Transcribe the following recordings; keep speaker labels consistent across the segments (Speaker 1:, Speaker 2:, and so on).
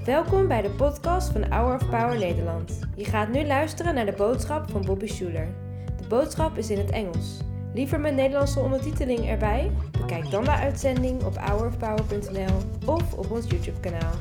Speaker 1: Welkom bij de podcast van Hour of Power Nederland. Je gaat nu luisteren naar de boodschap van Bobby Schuler. De boodschap is in het Engels. Liever met Nederlandse ondertiteling erbij? Bekijk dan de uitzending op hourofpower.nl of op ons YouTube-kanaal.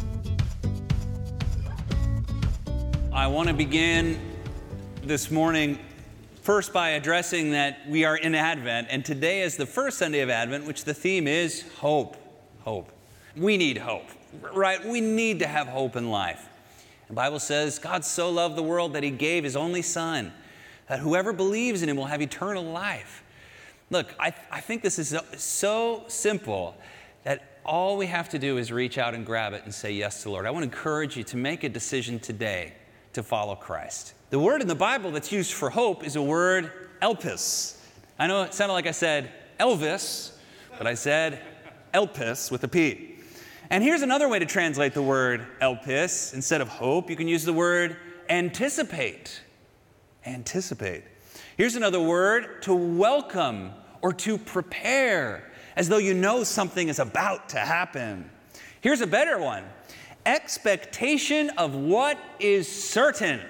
Speaker 2: I want to begin this morning first by addressing that we are in Advent, and today is the first Sunday of Advent, which the theme is hope. Hope. We need hope, right? We need to have hope in life. The Bible says God so loved the world that he gave his only son, that whoever believes in him will have eternal life. Look, I think this is so simple that all we have to do is reach out and grab it and say yes to the Lord. I want to encourage you to make a decision today to follow Christ. The word in the Bible that's used for hope is a word, elpis. I know it sounded like I said Elvis, but I said elpis with a P. And here's another way to translate the word elpis. Instead of hope, you can use the word anticipate. Anticipate. Here's another word, to welcome or to prepare, as though you know something is about to happen. Here's a better one, expectation of what is certain.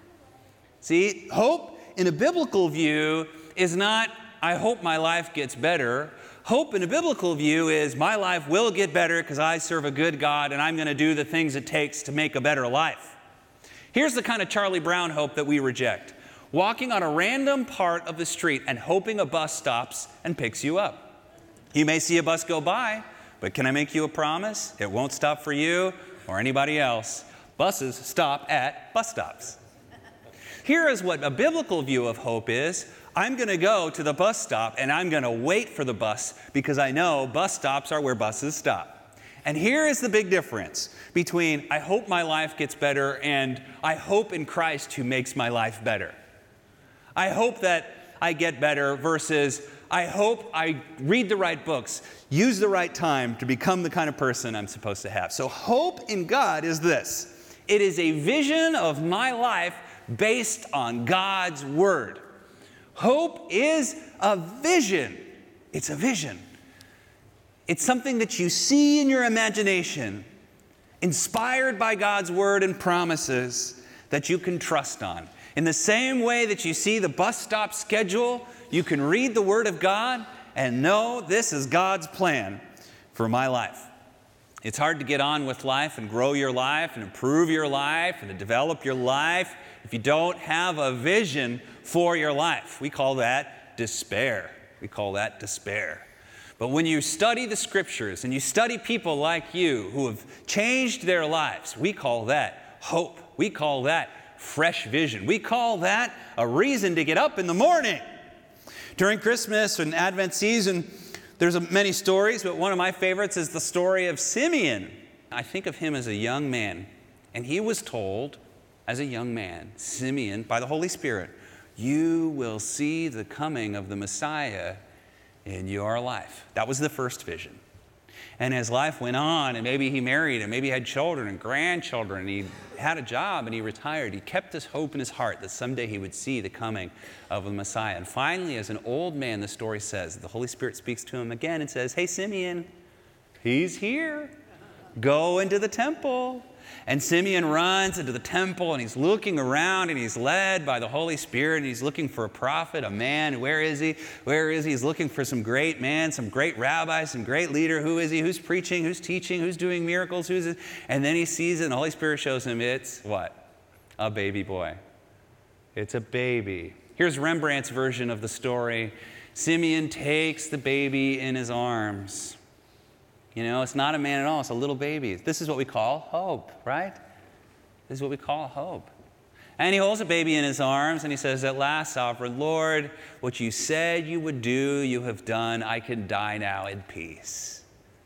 Speaker 2: See, hope in a biblical view is not, I hope my life gets better. Hope in a biblical view is, my life will get better because I serve a good God and I'm going to do the things it takes to make a better life. Here's the kind of Charlie Brown hope that we reject. Walking on a random part of the street and hoping a bus stops and picks you up. You may see a bus go by, but can I make you a promise? It won't stop for you or anybody else. Buses stop at bus stops. Here is what a biblical view of hope is. I'm going to go to the bus stop and I'm going to wait for the bus because I know bus stops are where buses stop. And here is the big difference between I hope my life gets better and I hope in Christ who makes my life better. I hope that I get better versus I hope I read the right books, use the right time to become the kind of person I'm supposed to have. So hope in God is this. It is a vision of my life based on God's Word. Hope is a vision. It's a vision. It's something that you see in your imagination, inspired by God's Word and promises that you can trust on. In the same way that you see the bus stop schedule, you can read the Word of God and know this is God's plan for my life. It's hard to get on with life and grow your life and improve your life and to develop your life if you don't have a vision for your life. We call that despair. We call that despair. But when you study the Scriptures and you study people like you who have changed their lives, we call that hope. We call that fresh vision. We call that a reason to get up in the morning. During Christmas and Advent season, there's many stories, but one of my favorites is the story of Simeon. I think of him as a young man, and he was told as a young man, Simeon, by the Holy Spirit, you will see the coming of the Messiah in your life. That was the first vision. And as life went on, and maybe he married, and maybe he had children and grandchildren, and he had a job, and he retired, he kept his hope in his heart that someday he would see the coming of the Messiah. And finally, as an old man, the story says, the Holy Spirit speaks to him again and says, hey, Simeon, he's here. Go into the temple. And Simeon runs into the temple, and he's looking around, and he's led by the Holy Spirit, and he's looking for a prophet, a man. Where is he? Where is he? He's looking for some great man, some great rabbi, some great leader. Who is he? Who's preaching? Who's teaching? Who's doing miracles? Who's it? And then he sees it, and the Holy Spirit shows him it's what? A baby boy. It's a baby. Here's Rembrandt's version of the story. Simeon takes the baby in his arms. You know, it's not a man at all. It's a little baby. This is what we call hope, right? This is what we call hope. And he holds the baby in his arms and he says, at last, sovereign Lord, what you said you would do, you have done. I can die now in peace.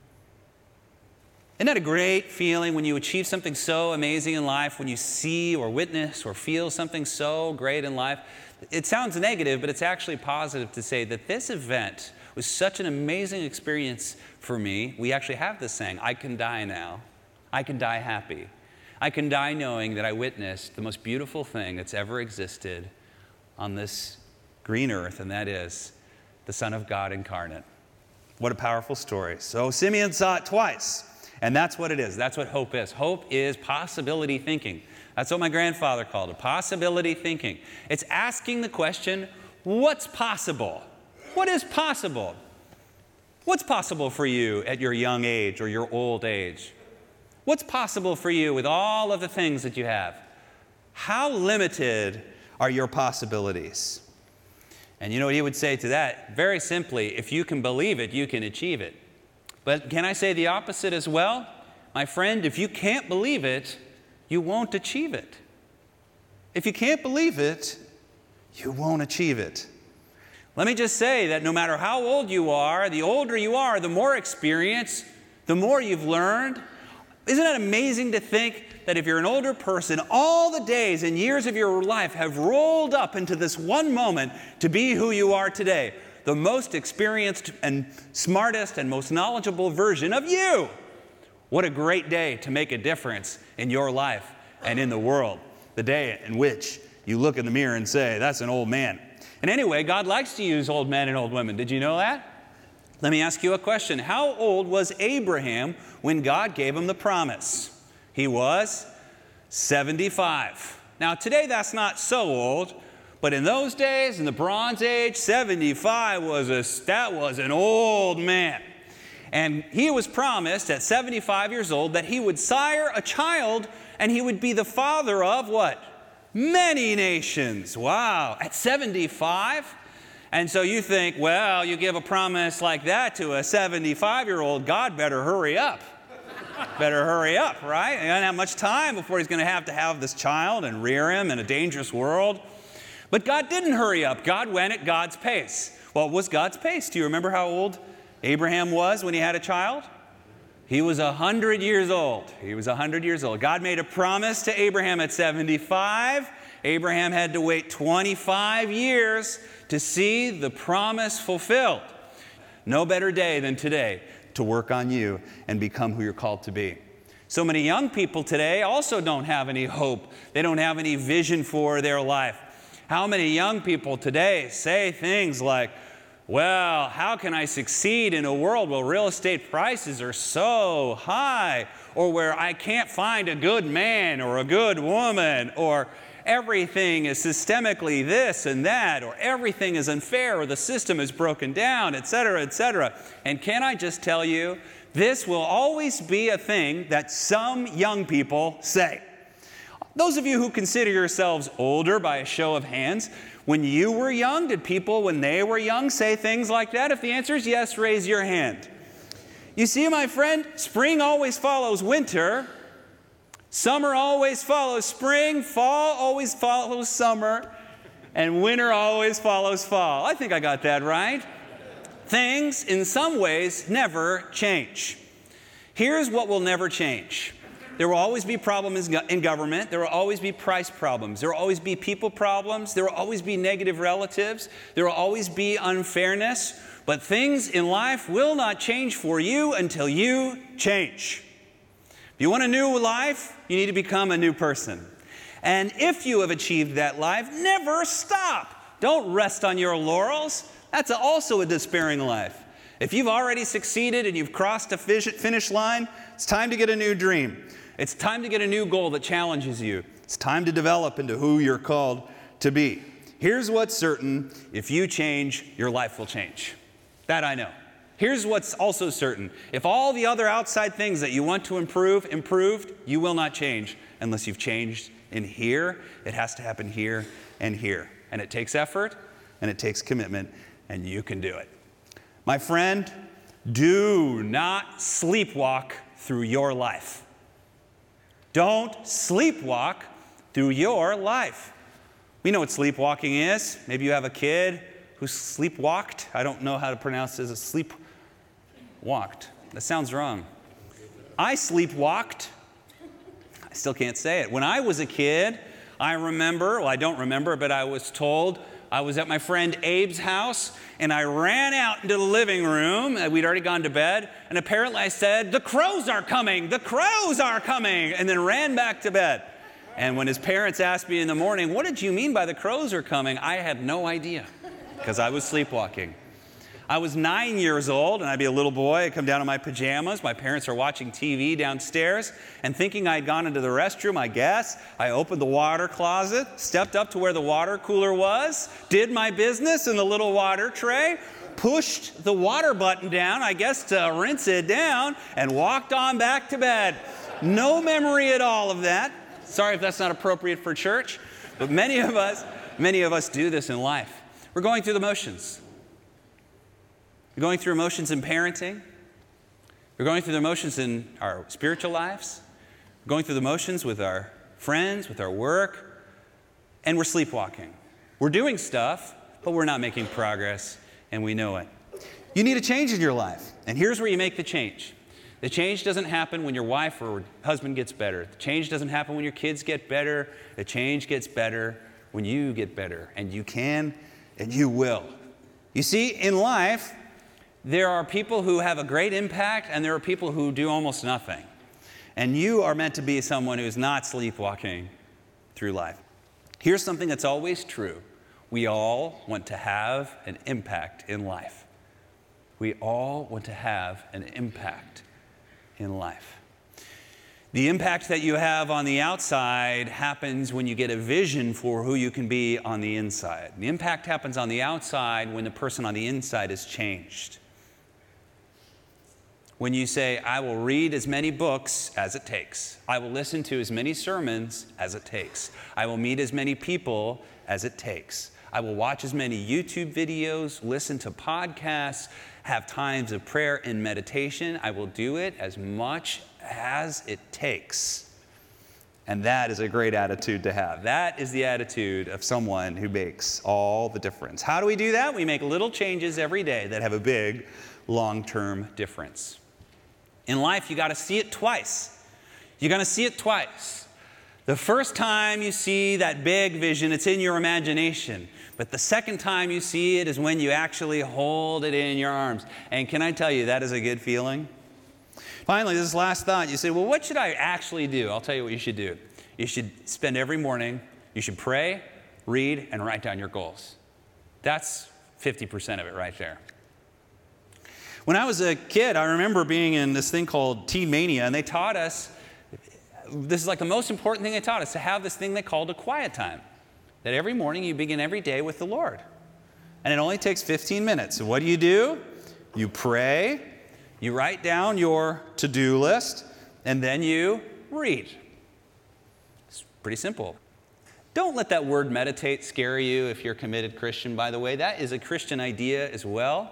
Speaker 2: Isn't that a great feeling when you achieve something so amazing in life, when you see or witness or feel something so great in life? It sounds negative, but it's actually positive to say that this event was such an amazing experience for me. We actually have this saying, I can die now. I can die happy. I can die knowing that I witnessed the most beautiful thing that's ever existed on this green earth, and that is the Son of God incarnate. What a powerful story. So Simeon saw it twice. And that's what it is. That's what hope is. Hope is possibility thinking. That's what my grandfather called it, possibility thinking. It's asking the question, what's possible? What is possible? What's possible for you at your young age or your old age? What's possible for you with all of the things that you have? How limited are your possibilities? And you know what he would say to that? Very simply, if you can believe it, you can achieve it. But can I say the opposite as well? My friend, if you can't believe it, you won't achieve it. If you can't believe it, you won't achieve it. Let me just say that no matter how old you are, the older you are, the more experience, the more you've learned. Isn't it amazing to think that if you're an older person, all the days and years of your life have rolled up into this one moment to be who you are today, the most experienced and smartest and most knowledgeable version of you. What a great day to make a difference in your life and in the world. The day in which you look in the mirror and say, that's an old man. And anyway, God likes to use old men and old women. Did you know that? Let me ask you a question. How old was Abraham when God gave him the promise? He was 75. Now, today that's not so old, but in those days, in the Bronze Age, 75 was an old man. And he was promised at 75 years old that he would sire a child and he would be the father of what? Many nations. Wow. At 75? And so you think, well, you give a promise like that to a 75-year-old, God better hurry up. Better hurry up, right? He doesn't have much time before he's going to have this child and rear him in a dangerous world. But God didn't hurry up. God went at God's pace. What was God's pace? Do you remember how old Abraham was when he had a child? He was 100 years old. He was 100 years old. God made a promise to Abraham at 75. Abraham had to wait 25 years to see the promise fulfilled. No better day than today to work on you and become who you're called to be. So many young people today also don't have any hope. They don't have any vision for their life. How many young people today say things like, well, how can I succeed in a world where real estate prices are so high, or where I can't find a good man or a good woman, or everything is systemically this and that, or everything is unfair, or the system is broken down, etc., etc. And can I just tell you, this will always be a thing that some young people say. Those of you who consider yourselves older by a show of hands, when you were young, did people when they were young say things like that? If the answer is yes, raise your hand. You see, my friend, spring always follows winter. Summer always follows spring. Fall always follows summer. And winter always follows fall. I think I got that right. Things, in some ways, never change. Here's what will never change. There will always be problems in government. There will always be price problems. There will always be people problems. There will always be negative relatives. There will always be unfairness. But things in life will not change for you until you change. If you want a new life, you need to become a new person. And if you have achieved that life, never stop. Don't rest on your laurels. That's also a despairing life. If you've already succeeded and you've crossed a finish line, it's time to get a new dream. It's time to get a new goal that challenges you. It's time to develop into who you're called to be. Here's what's certain. If you change, your life will change. That I know. Here's what's also certain. If all the other outside things that you want to improve, improved, you will not change unless you've changed in here. It has to happen here and here. And it takes effort and it takes commitment, and you can do it. My friend, do not sleepwalk through your life. Don't sleepwalk through your life. We know what sleepwalking is. Maybe you have a kid who sleepwalked. I don't know how to pronounce it as sleepwalked. That sounds wrong. I sleepwalked. I still can't say it. When I was a kid, I remember, well, I don't remember, but I was told I was at my friend Abe's house, and I ran out into the living room. We'd already gone to bed, and apparently I said, "The crows are coming! The crows are coming!" and then ran back to bed. And when his parents asked me in the morning, "What did you mean by the crows are coming?" I had no idea, because I was sleepwalking. I was 9 years old, and I'd be a little boy. I'd come down in my pajamas. My parents are watching TV downstairs, and thinking I'd gone into the restroom, I guess, I opened the water closet, stepped up to where the water cooler was, did my business in the little water tray, pushed the water button down, I guess to rinse it down, and walked on back to bed. No memory at all of that. Sorry if that's not appropriate for church, but many of us do this in life. We're going through the motions. We're going through emotions in parenting. We're going through the emotions in our spiritual lives. We're going through the motions with our friends, with our work, and we're sleepwalking. We're doing stuff, but we're not making progress, and we know it. You need a change in your life, and here's where you make the change. The change doesn't happen when your wife or husband gets better. The change doesn't happen when your kids get better. The change gets better when you get better, and you can and you will. You see, in life, there are people who have a great impact, and there are people who do almost nothing. And you are meant to be someone who's not sleepwalking through life. Here's something that's always true. We all want to have an impact in life. We all want to have an impact in life. The impact that you have on the outside happens when you get a vision for who you can be on the inside. The impact happens on the outside when the person on the inside is changed. When you say, I will read as many books as it takes. I will listen to as many sermons as it takes. I will meet as many people as it takes. I will watch as many YouTube videos, listen to podcasts, have times of prayer and meditation. I will do it as much as it takes. And that is a great attitude to have. That is the attitude of someone who makes all the difference. How do we do that? We make little changes every day that have a big, long-term difference. In life, you got to see it twice. You're going to see it twice. The first time you see that big vision, it's in your imagination. But the second time you see it is when you actually hold it in your arms. And can I tell you, that is a good feeling? Finally, this last thought, you say, well, what should I actually do? I'll tell you what you should do. You should spend every morning, you should pray, read, and write down your goals. That's 50% of it right there. When I was a kid, I remember being in this thing called Teen Mania, and they taught us, this is like the most important thing they taught us, to have this thing they called a quiet time. That every morning you begin every day with the Lord. And it only takes 15 minutes. So what do? You pray, you write down your to-do list, and then you read. It's pretty simple. Don't let that word meditate scare you if you're a committed Christian, by the way. That is a Christian idea as well.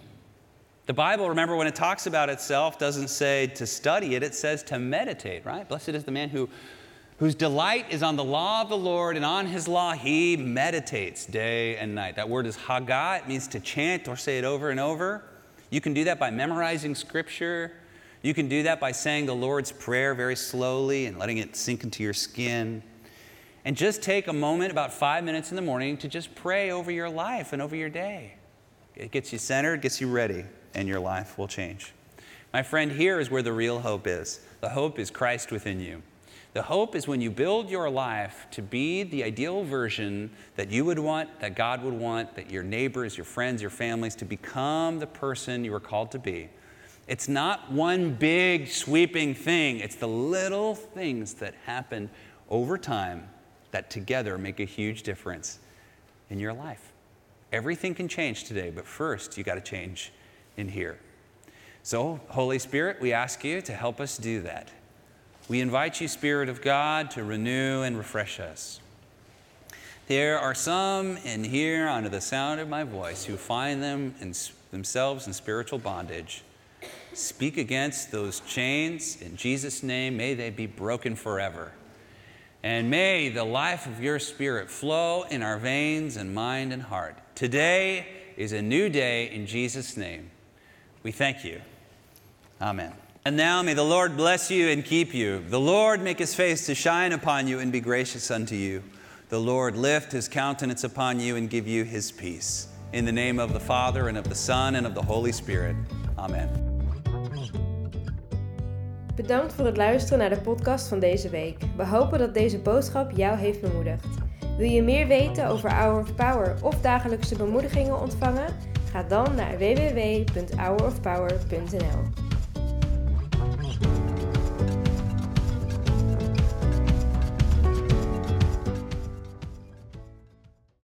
Speaker 2: The Bible, remember, when it talks about itself, doesn't say to study it, it says to meditate, right? Blessed is the man whose delight is on the law of the Lord, and on his law he meditates day and night. That word is haggah. It means to chant or say it over and over. You can do that by memorizing Scripture. You can do that by saying the Lord's Prayer very slowly and letting it sink into your skin. And just take a moment, about 5 minutes in the morning, to just pray over your life and over your day. It gets you centered, gets you ready, and your life will change. My friend, here is where the real hope is. The hope is Christ within you. The hope is when you build your life to be the ideal version that you would want, that God would want, that your neighbors, your friends, your families, to become the person you were called to be. It's not one big sweeping thing. It's the little things that happen over time that together make a huge difference in your life. Everything can change today, but first you got to change in here. So, Holy Spirit, we ask you to help us do that. We invite you, Spirit of God, to renew and refresh us. There are some in here, under the sound of my voice, who find themselves in spiritual bondage. Speak against those chains. In Jesus' name, may they be broken forever. And may the life of your Spirit flow in our veins and mind and heart. Today is a new day in Jesus' name. We thank you. Amen. And now may the Lord bless you and keep you. The Lord make his face to shine upon you and be gracious unto you. The Lord lift his countenance upon you and give you his peace. In the name of the Father, and of the Son, and of the Holy Spirit. Amen.
Speaker 1: Bedankt voor het luisteren naar de podcast van deze week. We hopen dat deze boodschap jou heeft bemoedigd. Wil je meer weten over Hour of Power of dagelijkse bemoedigingen ontvangen? Ga dan naar www.hourofpower.nl.